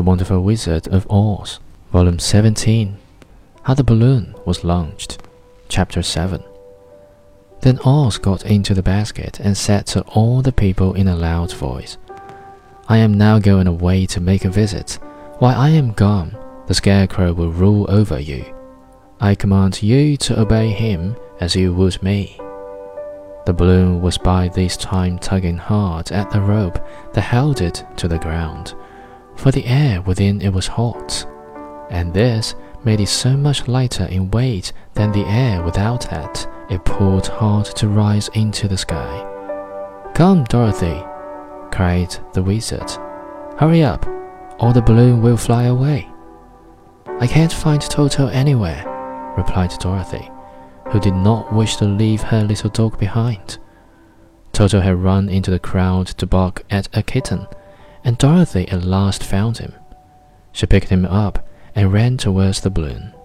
Wonderful Wizard of Oz, Volume 17, How the Balloon Was Launched, Chapter 7. Then Oz got into the basket and said to all the people in a loud voice, "I am now going away to make a visit. While I am gone, the Scarecrow will rule over you. I command you to obey him as you would me." The balloon was by this time tugging hard at the rope that held it to the ground, for the air within it was hot, and this made it so much lighter in weight than the air without it pulled hard to rise into the sky. "Come, Dorothy," cried the wizard. "Hurry up, or the balloon will fly away." "I can't find Toto anywhere," replied Dorothy, who did not wish to leave her little dog behind. Toto had run into the crowd to bark at a kitten, and Dorothy at last found him. She picked him up and ran towards the balloon.